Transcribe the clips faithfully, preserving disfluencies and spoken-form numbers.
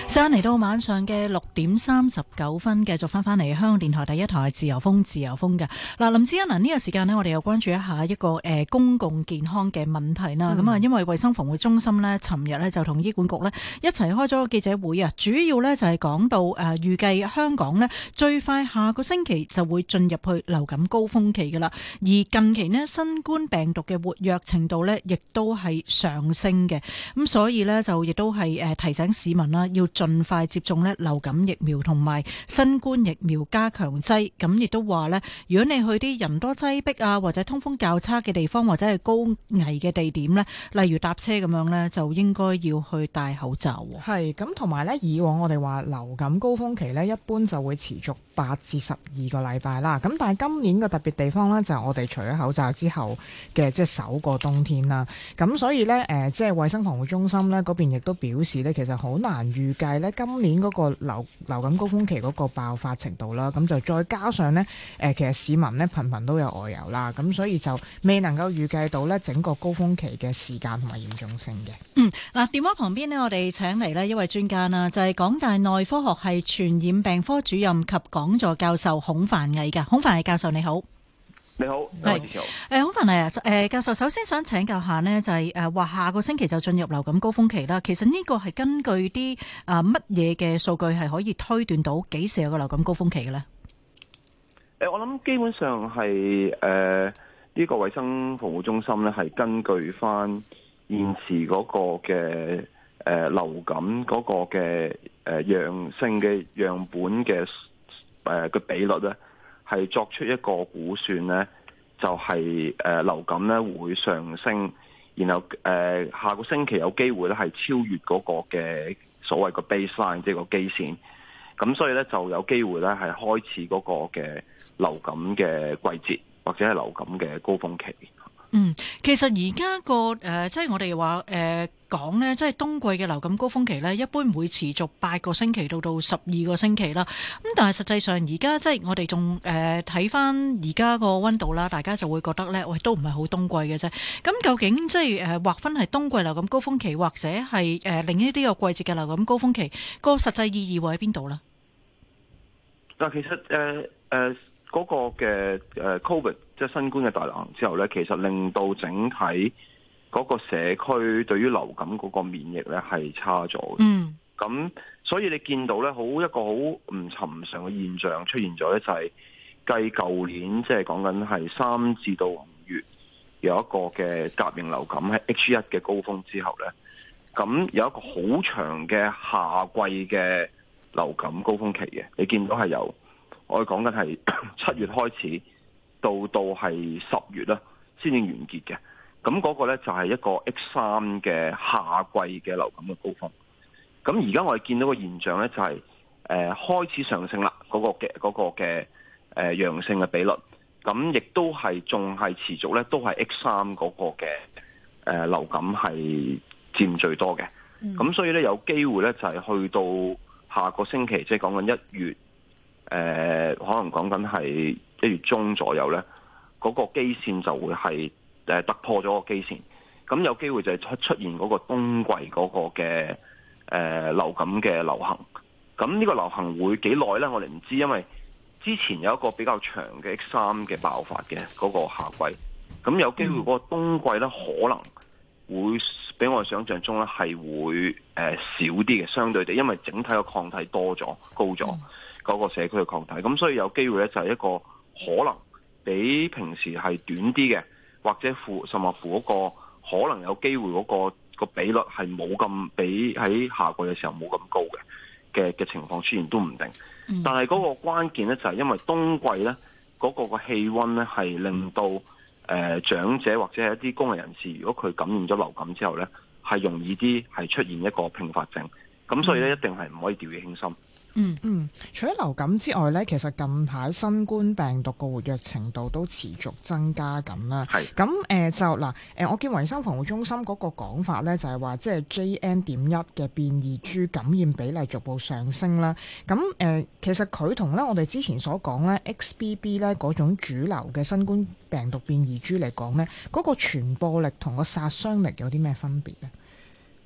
時間嚟到晚上嘅六點三十九分，繼續翻翻嚟香港電台第一台自由風自由風嘅嗱，林志欣嗱，呢個時間呢，我哋又關注一下一個誒、呃、公共健康嘅問題啦。咁啊、嗯，因為衛生防護中心呢，尋日呢就同醫管局呢一齊開咗個記者會啊，主要呢就係講到誒預計香港呢最快下個星期就會進入去流感高峰期噶啦，而近期呢，新冠病毒嘅活躍程度呢，亦都係上升嘅，咁所以呢，就亦都係誒提醒市民啦，要盡快接種咧流感疫苗同埋新冠疫苗加強劑。咁亦都話咧，如果你去啲人多擠迫啊，或者通風較差嘅地方，或者係高危嘅地點咧，例如搭車咁樣咧，就應該要去戴口罩。 係咁，同埋咧，以往我哋話流感高峰期咧，一般就會持續八至十二個禮拜啦。咁但係今年嘅特別地方咧，就係我哋除咗口罩之後嘅即係首個冬天啦。咁所以咧，誒、呃，即係衛生防護中心咧嗰邊亦都表示咧，其實好難預計咧今年嗰個流流感高峰期嗰個爆發程度啦。咁就再加上咧，誒、呃，其實市民咧頻頻都有外遊啦，咁所以就未能夠預計到咧整個高峰期嘅時間同埋嚴重性嘅。 嗯，嗱，電話旁邊呢，我哋請嚟呢一位專家啦，就係、是、港大內科學系傳染病科主任及講座教授孔繁毅嘅。孔繁毅教授你好。 你好， 係誒，孔繁毅啊，誒，教授首先想請教下呢，就係誒話下個星期就進入流感高峰期啦。其實呢個係根據啲啊乜嘢嘅數據係可以推斷到幾時有個流感高峰期嘅咧？ 誒，我諗基本上係誒呢個衛生防護中心咧，係根據翻現時嗰個嘅誒、呃、流感嗰個嘅誒陽性嘅樣本嘅誒嘅比率咧，係作出一個估算咧，就係、是、誒、呃、流感咧會上升，然後誒、呃、下個星期有機會咧係超越嗰個嘅所謂個 baseline，即係個基線。咁所以咧就有機會咧係開始嗰個嘅流感嘅季節，或者係流感嘅高峰期。 嗯，其實而家個誒，即係我哋話誒講呢，即係冬季嘅流感高峰期呢，一般會持續八個星期到到十二個星期啦。咁但係實際上而家即係我哋仲誒睇翻而家個溫度啦，大家就會覺得呢，喂，都唔係好冬季嘅啫。咁究竟即係誒劃分係冬季流感高峰期，或者係誒另一啲個季節嘅流感高峰期，個實際意義會喺邊度呢？ 嗱，其實誒誒。呃呃嗰個嘅誒 Covid 即係新冠嘅大流行之後咧，其實令到整體嗰個社區對於流感嗰個免疫咧係差咗嘅。嗯，咁所以你見到咧，好一個好唔尋常嘅現象出現咗咧，就係繼舊年即係講緊係三至到五月有一個嘅甲型流感喺 H 一嘅高峰之後咧，咁有一個好長嘅夏季嘅流感高峰期嘅，你見到係有。我哋講緊係七月開始，到到係十月啦，先至完結嘅。咁嗰個咧就係一個 H 三嘅夏季嘅流感嘅高峰。咁而家我哋見到個現象咧就係、是、誒、呃、開始上升啦，嗰、那個嘅嗰、那個嘅誒、呃、陽性嘅比率。咁亦都係仲係持續咧，都係 H 三嗰個嘅誒、呃、流感係佔最多嘅。咁、嗯、所以咧有機會咧就係、是、去到下個星期，即係講緊一月。誒、呃、可能講緊係一月中左右咧，嗰、那個基線就會係誒突破咗個基線，咁有機會就係出出現嗰個冬季嗰個嘅誒、呃、流感嘅流行。咁呢個流行會幾耐咧？我哋唔知，因為之前有一個比較長嘅 H 三嘅爆發嘅嗰個夏季，咁有機會嗰個冬季咧可能會比我哋想象中咧係會誒、呃、少啲嘅，相對地，因為整體嘅抗體多咗高咗。嗯嗰個社區嘅抗體，咁所以有機會咧就係一個可能比平時係短啲嘅，或者負甚或乎嗰個可能有機會嗰個個比率係冇咁比喺夏季嘅時候冇咁高嘅嘅嘅情況出現都唔定。嗯、但係嗰個關鍵咧就係因為冬季咧嗰、嗰個個氣温咧係令到誒、呃、長者或者係一啲公眾人士，如果佢感染咗流感之後咧係容易啲係出現一個併發症，咁所以咧一定係唔可以掉以輕心。 嗯嗯，除咗流感之外咧，其實近排新冠病毒個活躍程度都持續增加緊啦。係咁誒就嗱誒、呃，我見衛生防護中心嗰個講法咧，就係、是、話即係 J N 點一嘅變異株感染比例逐步上升啦。咁誒、呃，其實佢同咧我哋之前所講咧 X B B 咧嗰種主流嘅新冠病毒變異株嚟講咧，嗰、那個傳播力同個殺傷力有啲咩分別咧？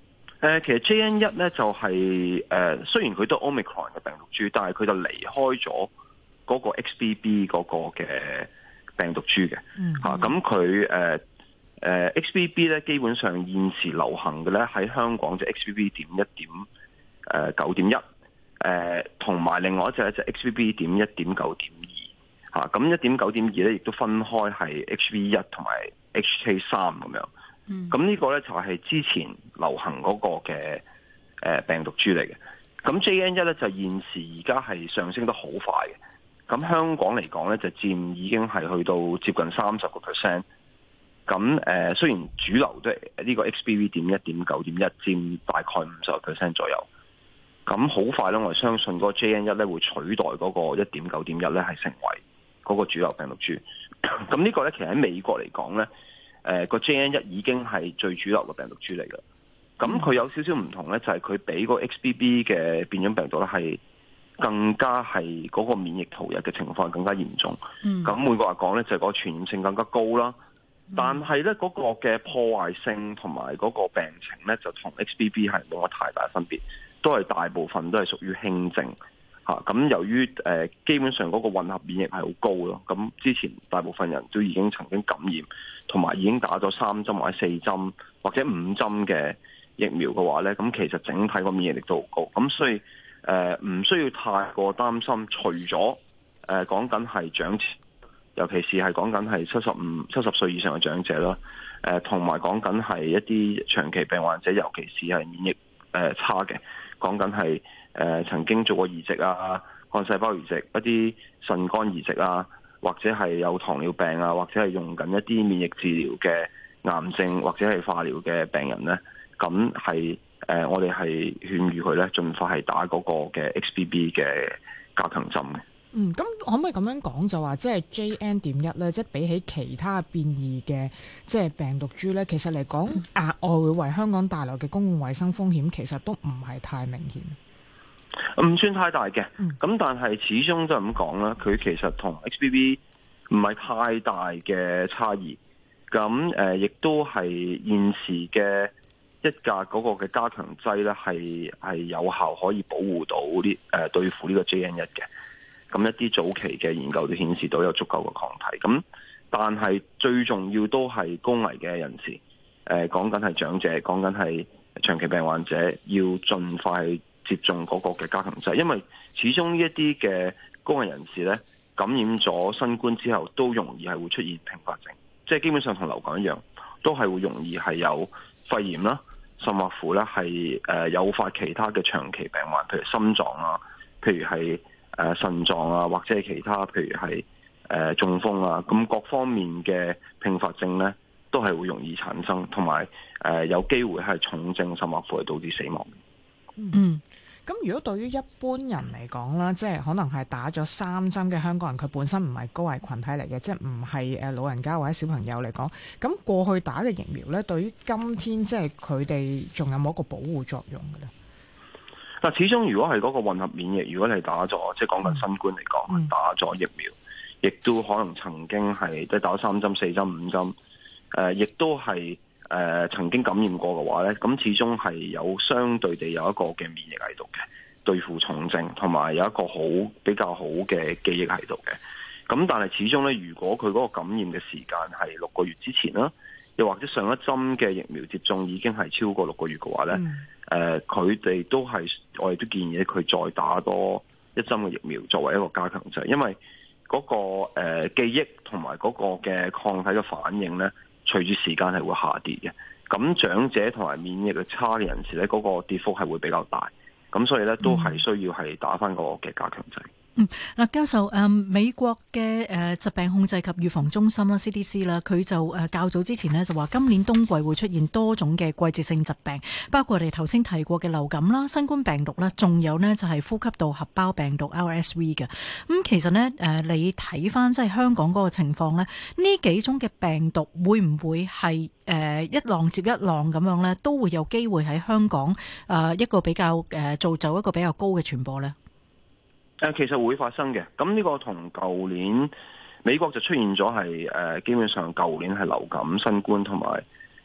誒，其實 J N 一咧就係、是、誒，雖然佢都 Omicron 嘅病毒株，但係佢就離開咗嗰個 X B B 嗰個嘅病毒株嘅。 嗯。 嚇，咁佢誒誒 X B B 咧，基本上現時流行嘅咧喺香港就 X B B 點一點誒九點一，誒同埋另外一隻咧就 X B B 點一點九點二。嚇，咁一點九點二咧亦都分開係 H V 一同埋 H K 三咁樣。咁呢、嗯、個咧就係之前流行嗰個嘅誒病毒株嚟嘅。咁 J N 一咧就現時而家係上升得好快嘅。咁香港嚟講咧就佔已經係去到接近三十個 percent。咁誒雖然主流都係呢個 X B B 點一點九點一佔大概五十個 percent 左右。咁好快咧，我哋相信嗰個 J N 一咧會取代嗰個一點九點一咧係成為嗰個主流病毒株。咁呢個咧其實喺美國嚟講咧。誒個、呃、J N 一已經係最主流嘅病毒株嚟嘅，咁佢有少少唔同咧，就係佢比個 X B B 嘅變種病毒咧係更加係嗰個免疫逃逸嘅情況係更加嚴重。咁換句話講咧，就係、是、個傳染性更加高啦。但係咧嗰個嘅破壞性同埋嗰個病情咧，就同 X B B 係冇乜太大分別，都係大部分都係屬於輕症。嚇，咁由於誒、呃、基本上嗰個混合免疫係好高咯，咁之前大部分人都已經曾經感染，同埋已經打咗三針或者四針或者五針嘅疫苗嘅話咧，咁其實整體個免疫力都好高，咁所以誒唔、呃、需要太過擔心。除咗誒講緊係長者，尤其是係講緊係七十五、七十歲以上嘅長者啦，誒同埋講緊係一啲長期病患者，尤其是係免疫誒、呃、差嘅，講緊係。誒、呃、曾經做過移植啊、幹細胞移植、一啲腎肝移植啊，或者係有糖尿病啊，或者係用緊一啲免疫治療嘅癌症或者係化療嘅病人咧，咁係誒我哋係勸喻佢咧，盡快係打嗰個嘅 X B B 嘅加強針嘅。 嗯，咁可唔可以咁樣講就話，即係 J N 點一咧，即係比起其他變異嘅即係病毒株咧，其實嚟講額外會為香港帶來嘅公共衛生風險，其實都唔係太明顯。 唔算太大嘅，咁但係始終都係咁講啦。佢其實同 X B B 唔係太大嘅差異，咁誒亦都係現時嘅一價嗰個嘅加強劑咧，係係有效可以保護到呢誒對付呢個 J N 一嘅。咁一啲早期嘅研究都顯示到有足夠嘅抗體。咁但係最重要都係高危嘅人士，誒講緊係長者，講緊係長期病患者，要盡快接種嗰個嘅加強劑，因為始終呢一啲嘅高危人士咧，感染咗新冠之後都容易係會出現併發症，即係基本上同流感一樣，都係會容易係有肺炎啦，甚或乎咧係誒誘發其他嘅長期病患，譬如心臟啊，譬如係誒腎臟啊，或者係其他譬如係誒、呃、中風啊，咁各方面嘅併發症咧，都係會容易產生，同埋誒有機會係重症，甚或乎係導致死亡。 嗯，咁如果對於一般人嚟講啦，即係可能係打咗三針嘅香港人，佢本身唔係高危群體嚟嘅，即係唔係誒老人家或者小朋友嚟講，咁過去打嘅疫苗咧，對於今天即係佢哋仲有冇一個保護作用嘅咧？ 嗱，始終如果係嗰個混合免疫，如果你打咗，即係講緊新冠嚟講，嗯、打咗疫苗，亦都可能曾經係即係打三針、四針、五針，誒、呃，亦都係。誒、呃、曾經感染過嘅話咧，咁始終係有相對地有一個嘅免疫喺度嘅，對付重症，同埋有一個好比較好嘅記憶喺度嘅。咁但係始終咧，如果佢嗰個感染嘅時間係六個月之前啦，又或者上一針嘅疫苗接種已經係超過六個月嘅話咧，誒佢哋都係我哋都建議佢再打多一針嘅疫苗作為一個加強劑，因為嗰、那個誒、呃、記憶同埋嗰個嘅抗體嘅反應咧，隨住時間係會下跌嘅，咁長者同埋免疫力差嘅人士咧，嗰、那個跌幅係會比較大，咁所以咧都係需要係打返個嘅加強劑。 嗯，嗱，教授，誒，美國嘅誒疾病控制及預防中心啦 C D C 啦，佢就誒較早之前呢就話今年冬季會出現多種嘅季節性疾病，包括我哋頭先提過嘅流感啦、新冠病毒啦，仲有呢就係呼吸道合胞病毒 R S V 嘅。咁其實呢，誒，你睇翻即係香港嗰個情況呢，呢幾種嘅病毒會唔會係誒一浪接一浪咁樣呢？都會有機會喺香港誒一個比較誒造就一個比較高嘅傳播呢？ 誒其實會發生嘅，咁呢個同舊年美國就出現咗係誒基本上舊年係流感、新冠同埋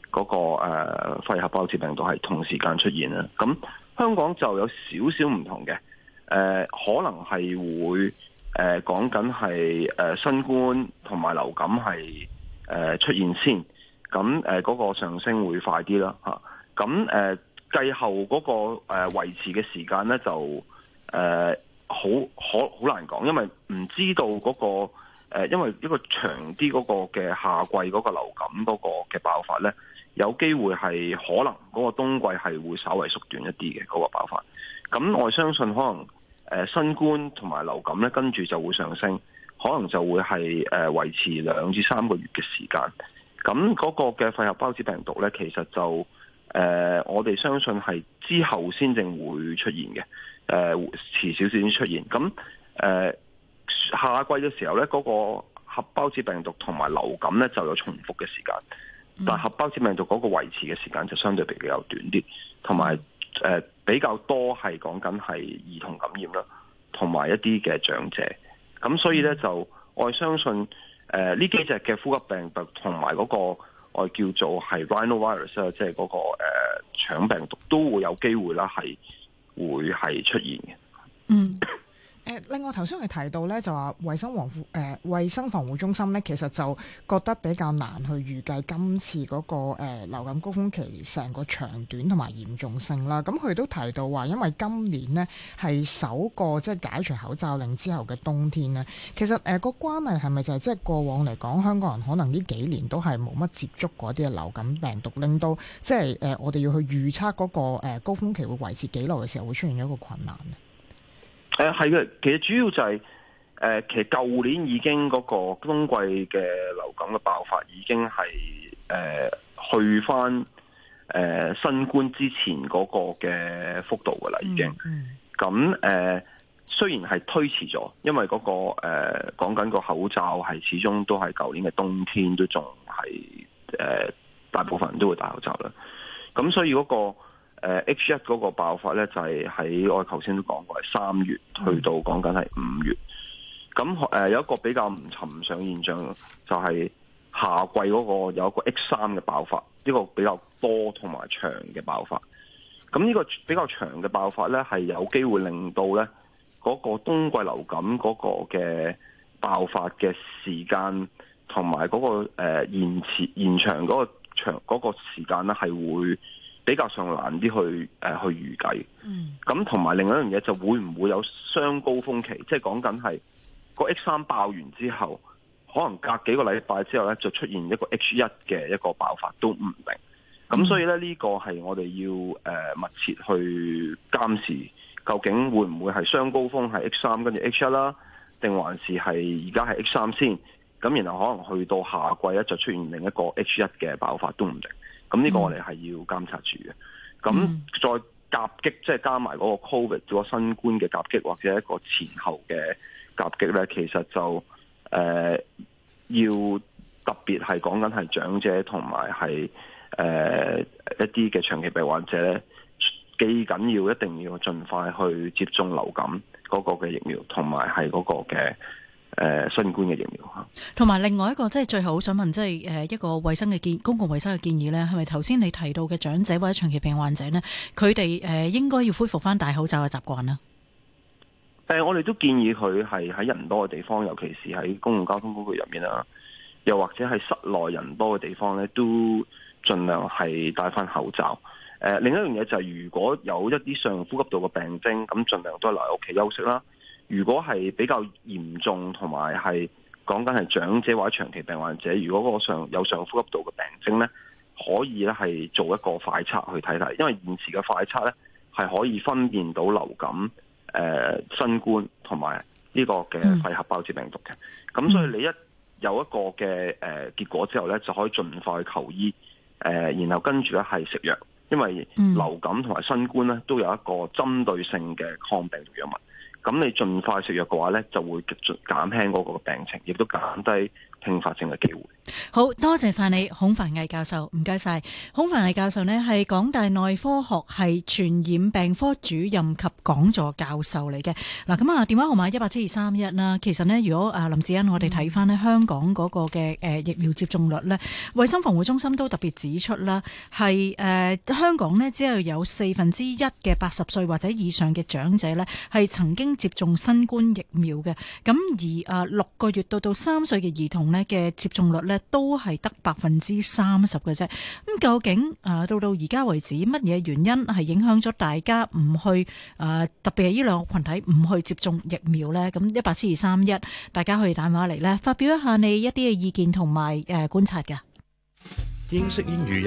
嗰個誒肺合胞子病毒係同時間出現啦。咁香港就有少少唔同嘅，誒、呃、可能係會誒講緊係誒新冠同埋流感係誒、呃、出現先，咁誒嗰個上升會快啲啦嚇。咁誒繼後嗰個誒維持嘅時間咧就誒。呃好可好難講，因為唔知道嗰、那個誒、呃，因為一個長啲嗰個嘅夏季嗰個流感嗰個嘅爆發咧，有機會係可能嗰個冬季係會稍微縮短一啲嘅嗰個爆發。咁我相信可能誒、呃、新冠同埋流感咧，跟住就會上升，可能就會係誒、呃、維持兩至三個月嘅時間。咁嗰個嘅肺合胞子病毒咧，其實就誒、呃、我哋相信係之後先正會出現嘅。誒、呃、遲少少先出現，咁誒、呃、夏季嘅時候咧，嗰、那個合胞子病毒同埋流感咧就有重複嘅時間，但係合胞子病毒嗰個維持嘅時間就相對比較短啲，同埋誒比較多係講緊係兒童感染啦，同埋一啲嘅長者，咁所以咧就我相信誒呢、呃、幾隻嘅呼吸病毒同埋嗰個我叫做係 rhinovirus 啊，即係嗰個誒腸病毒都會有機會啦，係會係出現嘅。 嗯。誒，另外頭先我哋提到咧，就話衞生防護誒衞生防護中心咧，其實就覺得比較難去預計今次嗰、那個、呃、流感高峰期成個長短同埋嚴重性啦。咁佢都提到話，因為今年呢係首個即係解除口罩令之後嘅冬天呢，其實誒、呃那個關係係咪就係即係過往嚟講，香港人可能呢幾年都係冇乜接觸嗰啲嘅流感病毒，令到即係誒我哋要去預測嗰個、呃、高峰期會維持幾耐嘅時候，會出現一個困難呢？ 誒係嘅，其實主要就係、是、誒、呃，其實舊年已經嗰個冬季嘅流感嘅爆發已經係誒、呃、去翻誒、呃、新冠之前嗰個嘅幅度噶啦，已經。咁誒、嗯呃，雖然係推遲咗，因為嗰、那個誒講緊個口罩係始終都係舊年嘅冬天都仲係誒大部分人都會戴口罩啦。咁所以嗰、那個。誒 H 一嗰個爆發咧，就係、是、喺我頭先都講過，係三月去到講緊係五月。咁誒、呃、有一個比較唔尋常現象，就係夏季嗰個有一個 H 三嘅爆發，呢、這個比較多同埋長嘅爆發。咁呢個比較長嘅爆發咧，係有機會令到咧嗰、那個冬季流感嗰個嘅爆發嘅時間同埋嗰個誒、呃、延遲延長嗰個長嗰、那個時間咧，係會比較上難啲去誒、呃、去預計，咁同埋另外一樣嘢就會唔會有雙高峰期，即係講緊係個 H 三爆完之後，可能隔幾個禮拜之後咧就出現一個 H 一嘅一個爆發都唔定。咁所以咧呢、這個係我哋要誒、呃、密切去監視，究竟會唔會係雙高峰係 H 三跟住 H 一啦，定還是係而家係 H 三先？咁然後可能去到夏季咧就出現另一個 H 一嘅爆發都唔定。咁呢個我哋係要監察住嘅。咁、嗯、再夾擊，即係加埋嗰個 Covid 嗰個新冠嘅夾擊，或者一個前後嘅夾擊咧，其實就誒、呃、要特別係講緊係長者同埋係誒一啲嘅長期病患者咧，幾緊要，一定要盡快去接種流感嗰個嘅疫苗，同埋係嗰個嘅。誒、呃，新冠嘅疫苗吓， 同埋另外一個即係最後好想問，即係誒一個衛生嘅建公共衛生嘅建議咧，係咪頭先你提到嘅長者或者長期病患者呢？佢哋誒應該要恢復翻戴口罩嘅習慣呢？ 誒、呃，我哋都建議佢係喺人多嘅地方，尤其是喺公共交通工具入面啊，又或者係室內人多嘅地方咧，都盡量係戴翻口罩。誒、呃，另一樣嘢就係如果有一啲上呼吸道嘅病徵，咁盡量都係留喺屋企休息啦。如果係比較嚴重同埋係講緊係長者或者長期病患者，如果個上有上呼吸道嘅病徵咧，可以咧係做一個快測去睇睇，因為現時嘅快測咧係可以分辨到流感、誒、呃、新冠同埋呢個嘅肺合胞子病毒嘅。咁、嗯、所以你一有一個嘅誒、呃、結果之後咧，就可以盡快去求醫，誒、呃、然後跟住咧係食藥，因為流感同埋新冠咧都有一個針對性嘅抗病毒藥物。咁你盡快食藥嘅話咧，就會減輕嗰個病情，亦都減低併發症嘅機會。 好多謝晒你，孔繁毅教授，唔該晒。孔繁毅教授呢係港大內科學系傳染病科主任及講座教授嚟嘅。嗱，咁啊，電話號碼一八七二三一啦。其實呢，如果啊林志恩，我哋睇翻呢香港嗰個嘅誒疫苗接種率呢，衛生防護中心都特別指出啦，係誒、呃、香港呢，只係有四分之一嘅八十歲或者以上嘅長者呢係曾經接種新冠疫苗嘅。咁而啊六個月到到三歲嘅兒童呢嘅接種率呢，都係得百分之三十嘅啫。咁究竟誒到到而家為止，乜嘢原因係影響咗大家唔去誒、呃，特別係呢兩個群體唔去接種疫苗呢？咁一八七二三一，大家可以打電話嚟呢，發表一下你一啲嘅意見同埋誒觀察嘅。 英式英語